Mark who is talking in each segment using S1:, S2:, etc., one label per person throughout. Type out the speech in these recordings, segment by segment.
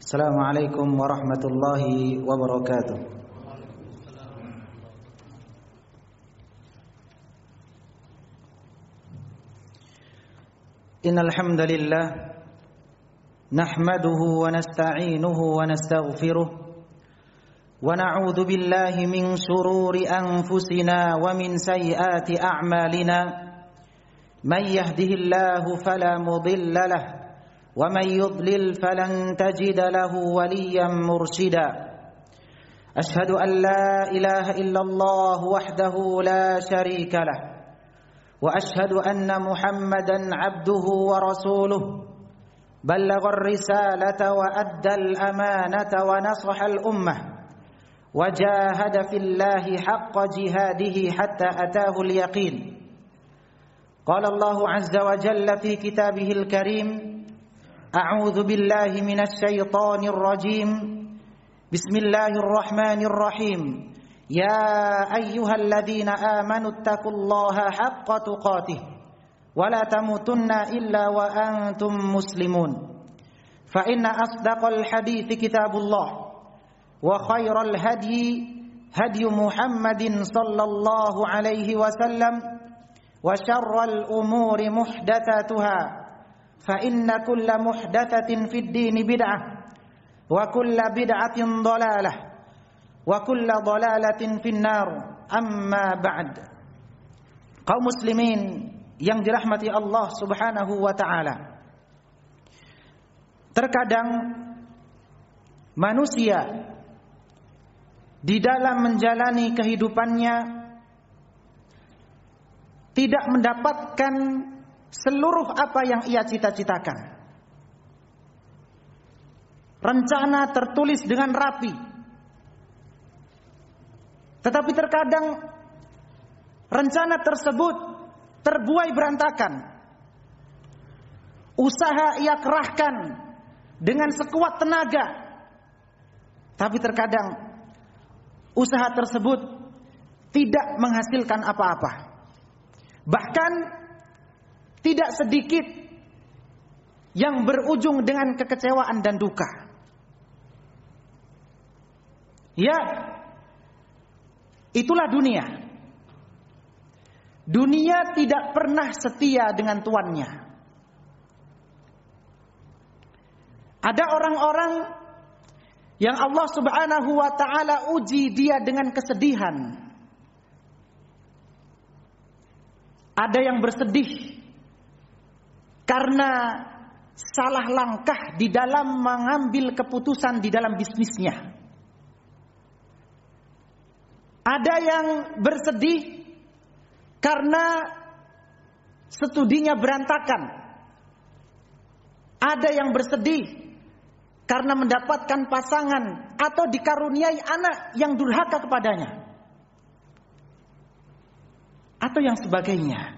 S1: Assalamualaikum warahmatullahi wabarakatuh. Innal hamdalillah nahmaduhu wa nasta'inuhu wa nastaghfiruh wa na'udzu billahi min shururi anfusina wa min sayyiati a'malina. Man yahdihillahu fala mudilla lahu ومن يضلل فلن تجد له وليا مرشدا أشهد أن لا إله إلا الله وحده لا شريك له وأشهد أن محمدا عبده ورسوله بلغ الرسالة وأدى الأمانة ونصح الأمة وجاهد في الله حق جهاده حتى أتاه اليقين. قال الله عز وجل في كتابه الكريم: أعوذ بالله من الشيطان الرجيم. بسم الله الرحمن الرحيم. يا أيها الذين آمنوا اتقوا الله حق تقاته ولا تموتن إلا وأنتم مسلمون. فإن أصدق الحديث كتاب الله وخير الهدي هدي محمد صلى الله عليه وسلم وشر الأمور محدثاتها فإن كل محدثة في الدين بدعة وكل بدعة ضلالة وكل ضلالة في النار. أما بعد. Kaum muslimin yang dirahmati Allah Subhanahu wa taala. Terkadang manusia di dalam menjalani kehidupannya tidak mendapatkan seluruh apa yang ia cita-citakan. Rencana tertulis dengan rapi. Tetapi terkadang rencana tersebut terbuai berantakan. Usaha ia kerahkan dengan sekuat tenaga. Tapi terkadang usaha tersebut tidak menghasilkan apa-apa. Bahkan tidak sedikit yang berujung dengan kekecewaan dan duka. Ya, itulah dunia. Dunia tidak pernah setia dengan tuannya. Ada orang-orang yang Allah Subhanahu wa taala uji dia dengan kesedihan. Ada yang bersedih karena salah langkah di dalam mengambil keputusan di dalam bisnisnya. Ada yang bersedih karena studinya berantakan. Ada yang bersedih karena mendapatkan pasangan atau dikaruniai anak yang durhaka kepadanya, atau yang sebagainya.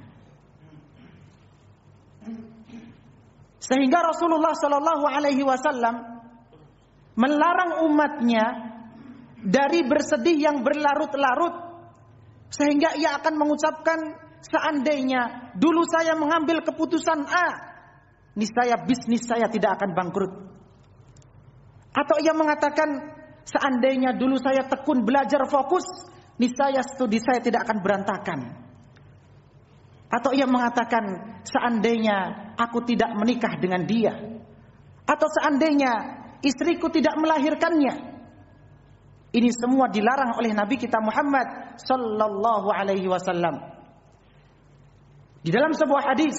S1: Sehingga Rasulullah Sallallahu Alaihi Wasallam melarang umatnya dari bersedih yang berlarut-larut, sehingga ia akan mengucapkan, seandainya dulu saya mengambil keputusan A, niscaya bisnis saya tidak akan bangkrut. Atau ia mengatakan, seandainya dulu saya tekun belajar fokus, niscaya studi saya tidak akan berantakan. Atau ia mengatakan, seandainya aku tidak menikah dengan dia, atau seandainya istriku tidak melahirkannya. Ini semua dilarang oleh Nabi kita Muhammad sallallahu alaihi wasallam. Di dalam sebuah hadis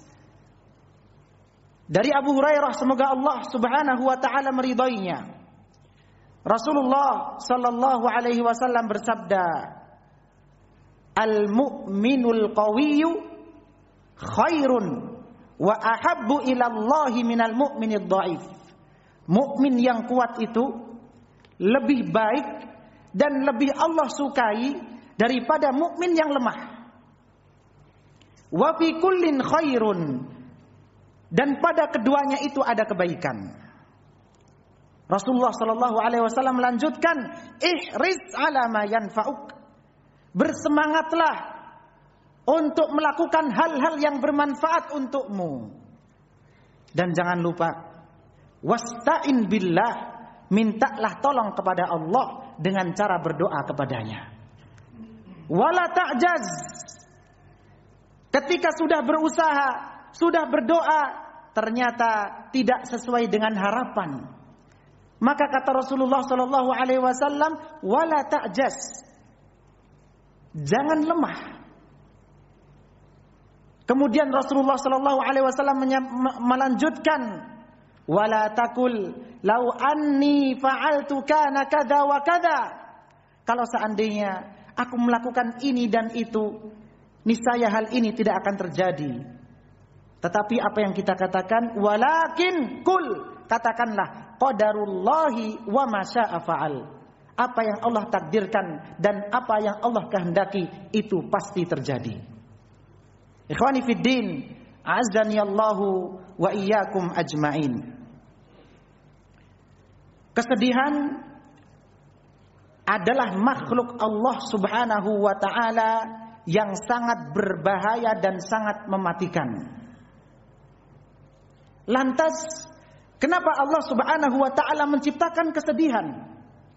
S1: dari Abu Hurairah, semoga Allah Subhanahu wa taala meridainya, Rasulullah sallallahu alaihi wasallam bersabda, al-mu'minul qawiyyu khairun wa ahabbu ila Allahi minal mu'minid dha'if. Mukmin yang kuat itu lebih baik dan lebih Allah sukai daripada mukmin yang lemah. Wa fi kullin khairun, dan pada keduanya itu ada kebaikan. Rasulullah sallallahu alaihi wasallam melanjutkan, ihris ala ma yanfa'uk. Bersemangatlah untuk melakukan hal-hal yang bermanfaat untukmu. Dan jangan lupa, Wasta'in billah, mintalah tolong kepada Allah dengan cara berdoa kepadanya. Wala ta'jaz, ketika sudah berusaha, sudah berdoa, ternyata tidak sesuai dengan harapan, maka kata Rasulullah sallallahu alaihi wasallam, wala ta'jaz, jangan lemah. Kemudian Rasulullah sallallahu alaihi wasallam melanjutkan, wala takul lau anni fa'altu kana kadza wa kadza, kalau seandainya aku melakukan ini dan itu, niscaya hal ini tidak akan terjadi. Tetapi apa yang kita katakan, walakin kul, katakanlah qadarullahi wa ma syaa fa'al, apa yang Allah takdirkan dan apa yang Allah kehendaki itu pasti terjadi. Ikhwani fid din, a'azzani Allahu wa iyyakum ajmain. Kesedihan adalah makhluk Allah Subhanahu wa taala yang sangat berbahaya dan sangat mematikan. Lantas, kenapa Allah Subhanahu wa taala menciptakan kesedihan?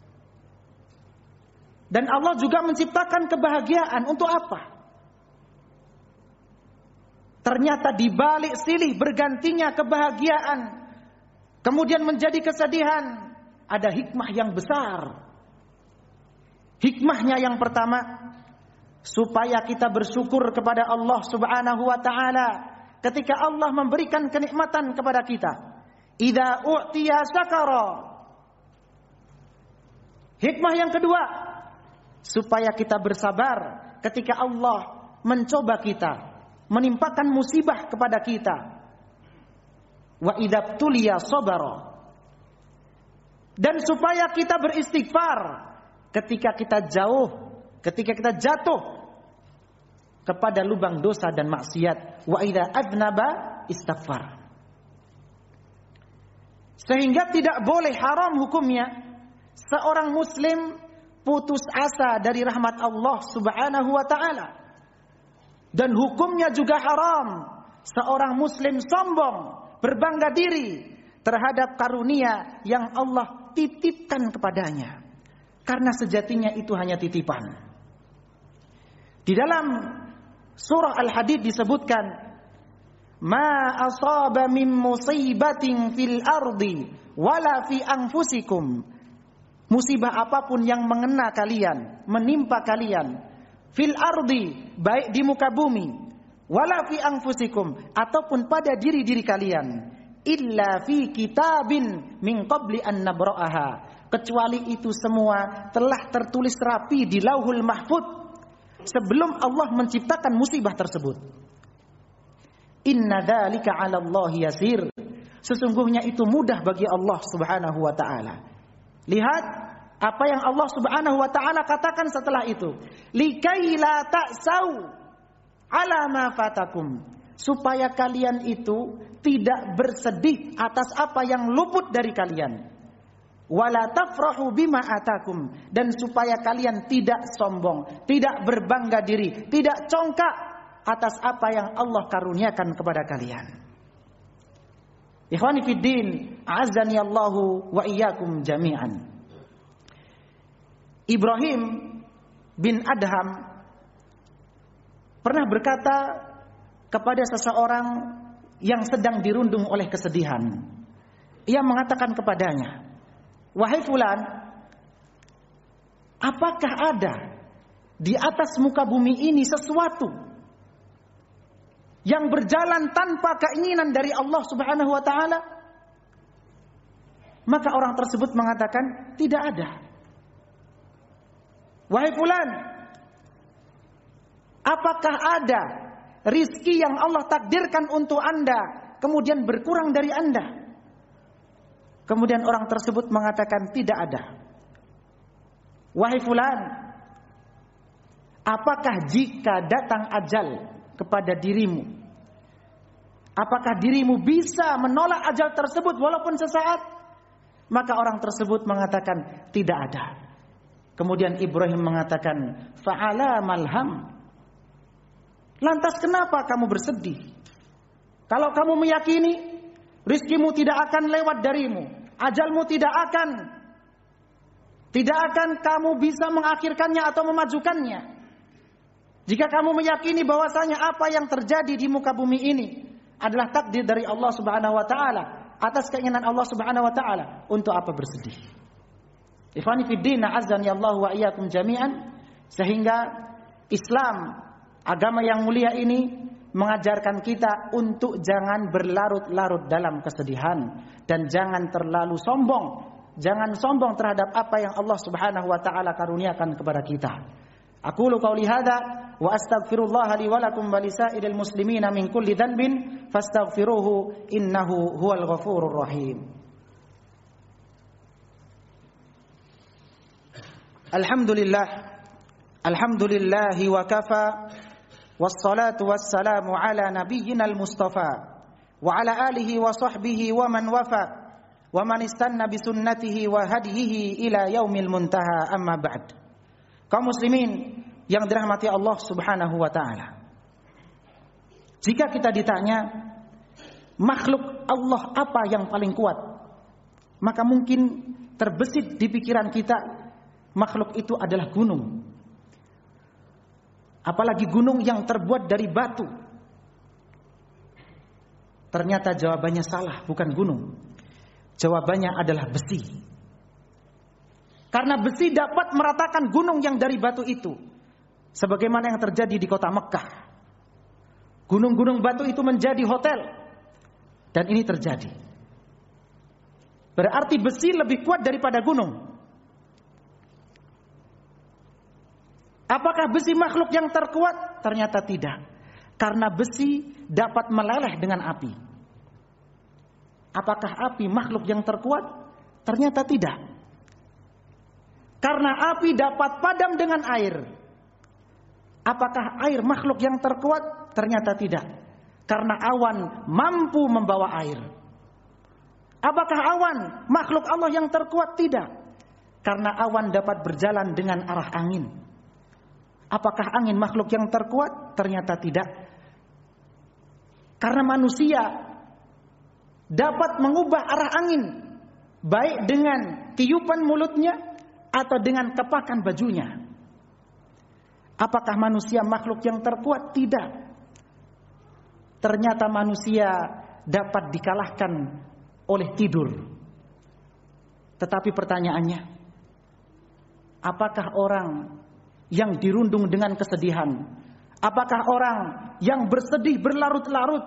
S1: Dan Allah juga menciptakan kebahagiaan untuk apa? Ternyata di balik silih bergantinya kebahagiaan kemudian menjadi kesedihan, ada hikmah yang besar. Hikmahnya yang pertama, supaya kita bersyukur kepada Allah Subhanahu wa taala ketika Allah memberikan kenikmatan kepada kita. Idza u'tiya syakara. Hikmah yang kedua, supaya kita bersabar ketika Allah mencoba kita, menimpakan musibah kepada kita. Wa idza tuliya sabara. Dan supaya kita beristighfar ketika kita jauh, ketika kita jatuh kepada lubang dosa dan maksiat. Wa idza adnaba istaghfar. Sehingga tidak boleh, haram hukumnya seorang muslim putus asa dari rahmat Allah Subhanahu wa taala. Dan hukumnya juga haram seorang muslim sombong, berbangga diri terhadap karunia yang Allah titipkan kepadanya, karena sejatinya itu hanya titipan. Di dalam surah Al-Hadid disebutkan, ma asaba min musibatin fil ardi wala fi anfusikum, musibah apapun yang mengena kalian, menimpa kalian, fil ardi, baik di muka bumi, wala fi anfusikum, ataupun pada diri-diri kalian, illa fi kitabin min qabli an nabra'aha, kecuali itu semua telah tertulis rapi di Lauhul Mahfuz sebelum Allah menciptakan musibah tersebut. Inna dzalika 'ala Allah yasir, sesungguhnya itu mudah bagi Allah Subhanahu wa taala. Lihat apa yang Allah Subhanahu wa taala katakan setelah itu, likai la ta'sau 'ala ma fatakum, supaya kalian itu tidak bersedih atas apa yang luput dari kalian. Wala tafrahu bima atakum, dan supaya kalian tidak sombong, tidak berbangga diri, tidak congkak atas apa yang Allah karuniakan kepada kalian. Ikhwani fid din, a'azzani Allahu wa iyyakum jami'an. Ibrahim bin Adham pernah berkata kepada seseorang yang sedang dirundung oleh kesedihan. Ia mengatakan kepadanya, wahai fulan, apakah ada di atas muka bumi ini sesuatu yang berjalan tanpa keinginan dari Allah Subhanahu wa taala? Maka orang tersebut mengatakan, tidak ada. Wahai fulan, apakah ada rizki yang Allah takdirkan untuk Anda kemudian berkurang dari Anda? Kemudian orang tersebut mengatakan, tidak ada. Wahai fulan, apakah jika datang ajal kepada dirimu, apakah dirimu bisa menolak ajal tersebut walaupun sesaat? Maka orang tersebut mengatakan, tidak ada. Kemudian Ibrahim mengatakan, fa'ala malham, lantas kenapa kamu bersedih? Kalau kamu meyakini rizkimu tidak akan lewat darimu, ajalmu tidak akan kamu bisa mengakhirkannya atau memajukannya. Jika kamu meyakini bahwasanya apa yang terjadi di muka bumi ini adalah takdir dari Allah Subhanahu wa taala, atas keinginan Allah Subhanahu wa taala, untuk apa bersedih? Ikhwani fid din, a'azzani Allah wa iyyakum jami'an. Sehingga Islam, agama yang mulia ini mengajarkan kita untuk jangan berlarut-larut dalam kesedihan dan jangan terlalu sombong. Jangan sombong terhadap apa yang Allah Subhanahu wa taala karuniakan kepada kita. Aqulu qauli hadza wa astaghfirullah li wa lakum wa lisairil muslimina min kulli dhanbin fastaghfiruhu innahu huwal ghafurur rahim. Alhamdulillahi wa kafa wassalatu wassalamu ala nabiyyina al-mustafa wa ala alihi wa sahbihi wa man wafa wa man istanna bi sunnatihi wa hadihi ila yaumil muntaha, amma ba'd. Kaum muslimin yang dirahmati Allah Subhanahu wa taala. Jika kita ditanya makhluk Allah apa yang paling kuat, maka mungkin terbesit di pikiran kita makhluk itu adalah gunung. Apalagi gunung yang terbuat dari batu. Ternyata jawabannya salah, bukan gunung. Jawabannya adalah besi. Karena besi dapat meratakan gunung yang dari batu itu. Sebagaimana yang terjadi di kota Mekkah. Gunung-gunung batu itu menjadi hotel. Dan ini terjadi. Berarti besi lebih kuat daripada gunung. Apakah besi makhluk yang terkuat? Ternyata tidak. Karena besi dapat meleleh dengan api. Apakah api makhluk yang terkuat? Ternyata tidak. Karena api dapat padam dengan air. Apakah air makhluk yang terkuat? Ternyata tidak. Karena awan mampu membawa air. Apakah awan makhluk Allah yang terkuat? Tidak. Karena awan dapat berjalan dengan arah angin. Apakah angin makhluk yang terkuat? Ternyata tidak. Karena manusia dapat mengubah arah angin, baik dengan tiupan mulutnya atau dengan kepakan bajunya. Apakah manusia makhluk yang terkuat? Tidak. Ternyata manusia dapat dikalahkan oleh tidur. Tetapi pertanyaannya, apakah orang yang dirundung dengan kesedihan, apakah orang yang bersedih berlarut-larut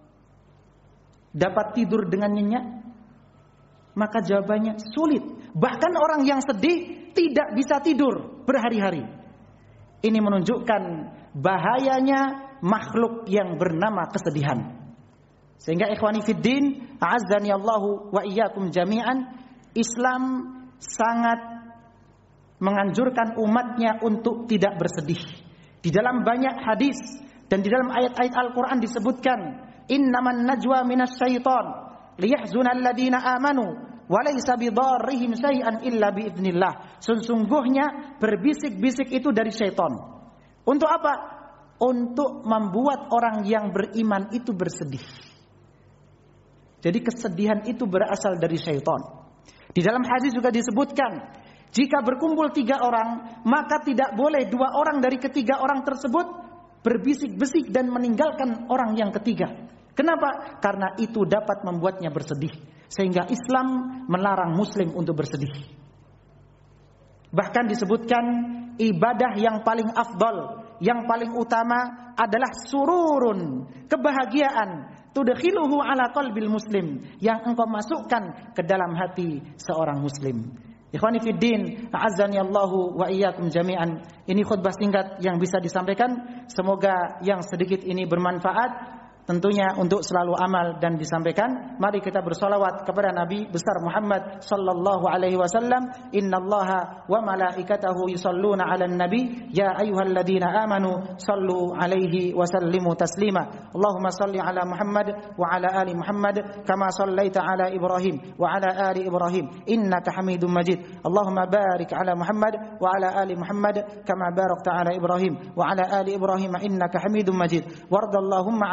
S1: dapat tidur dengan nyenyak? Maka jawabannya sulit. Bahkan orang yang sedih tidak bisa tidur berhari-hari. Ini menunjukkan bahayanya makhluk yang bernama kesedihan. Sehingga ikhwani fiddin, a'azzani Allahu wa iyyakum jami'an, Islam sangat menganjurkan umatnya untuk tidak bersedih. Di dalam banyak hadis dan di dalam ayat-ayat Al-Quran disebutkan, innaman najwa minas syaitan liyahzunal ladina amanu walaysa bidarrihim syai'an illa biidznillah. Sesungguhnya berbisik-bisik itu dari syaitan. Untuk apa? Untuk membuat orang yang beriman itu bersedih. Jadi kesedihan itu berasal dari syaitan. Di dalam hadis juga disebutkan, jika berkumpul 3 orang, maka tidak boleh 2 orang dari ketiga orang tersebut berbisik-bisik dan meninggalkan orang yang ketiga. Kenapa? Karena itu dapat membuatnya bersedih. Sehingga Islam melarang muslim untuk bersedih. Bahkan disebutkan ibadah yang paling afdal, yang paling utama adalah sururun, kebahagiaan, tudkhiluhu ala qalbil muslim, yang engkau masukkan ke dalam hati seorang muslim. Ikhwani fiddin, a'azzani Allahu wa iyyakum jami'an. Ini khutbah singkat yang bisa disampaikan. Semoga yang sedikit ini bermanfaat. Tentunya untuk selalu amal dan disampaikan. Mari kita bersolawat kepada Nabi besar Muhammad sallallahu alaihi wasallam. Innallaha wa malaikatahu yusalluna 'alan nabi ya ayyuhalladzina amanu sallu alaihi wa sallimu taslima. Allahumma salli ala Muhammad wa ala ali Muhammad kama sallaita ala Ibrahim wa ala ali Ibrahim innaka Hamidum Majid. Allahumma barik ala Muhammad wa ala ali Muhammad kama barakta ala Ibrahim wa ala ali Ibrahim innaka Hamidum Majid. Wardallahumma 'anil khulafa'i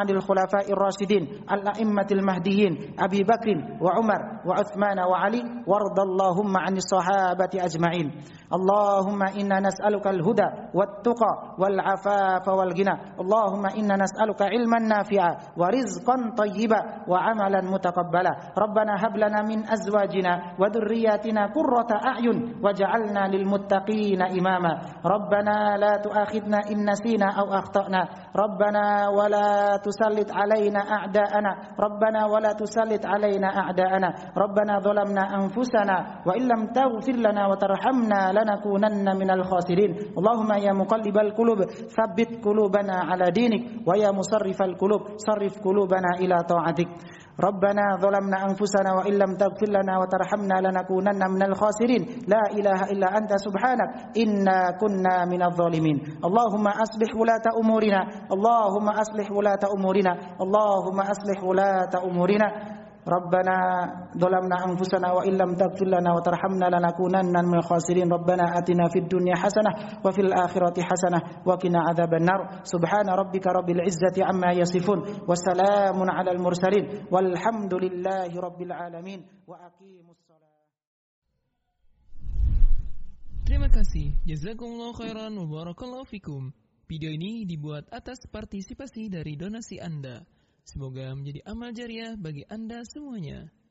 S1: khulafa'ir rasyidin al-a'immatil mahdiyyin Abi Bakrin wa Umar wa Uthman wa Ali wardallahumma 'anis sahabati ajma'in. Allahumma inna nas'aluka al-huda wat-tuqa wal-'afafa wal-ghina. Allahumma inna nas'aluka 'ilman nafi'a wa rizqan thayyiba wa 'amalan mutaqabbala. Rabbana hab lana min azwajina wa dhurriyyatina qurrata a'yun waj'alna lil muttaqina imama. Rabbana la tu'akhidna in nasina aw akhtana. Rabbana wa la tusallit 'alaina a'da'ana. Rabbana wa la tusallit 'alaina a'da'ana. Rabbana dhalamna anfusana wa illam taghfir lana wa tarhamna lanakunanna minal khasirin. Allahumma ya muqallibal qulub tsabbit qulubana 'ala dinik wa ya musarrifal qulub sarrif qulubana ila ta'atik. Rabbana dhalamna anfusana wa illam taghfir lana wa tarhamna lanakunanna minal khasirin. La ilaha illa anta subhanak inna kunna minadh dhalimin. Allahumma aslih wulata umurina. Allahumma aslih wulata umurina. Allahumma aslih wulata umurina. Rabbana dhalamna anfusana wa illam taghfir lana wa tarhamna lanakunanna minal khasirin. Rabbana atina fid dunya hasanah wa fil akhirati hasanah wa qina adzabannar. Subhana rabbika rabbil izzati amma yasifun wa salamun alal mursalin walhamdulillahi rabbil alamin. Wa aqimus shalah.
S2: Terima kasih. Jazakumullahu khairan wa barakallahu fikum. Video ini dibuat atas partisipasi dari donasi Anda. Semoga menjadi amal jariah bagi Anda semuanya.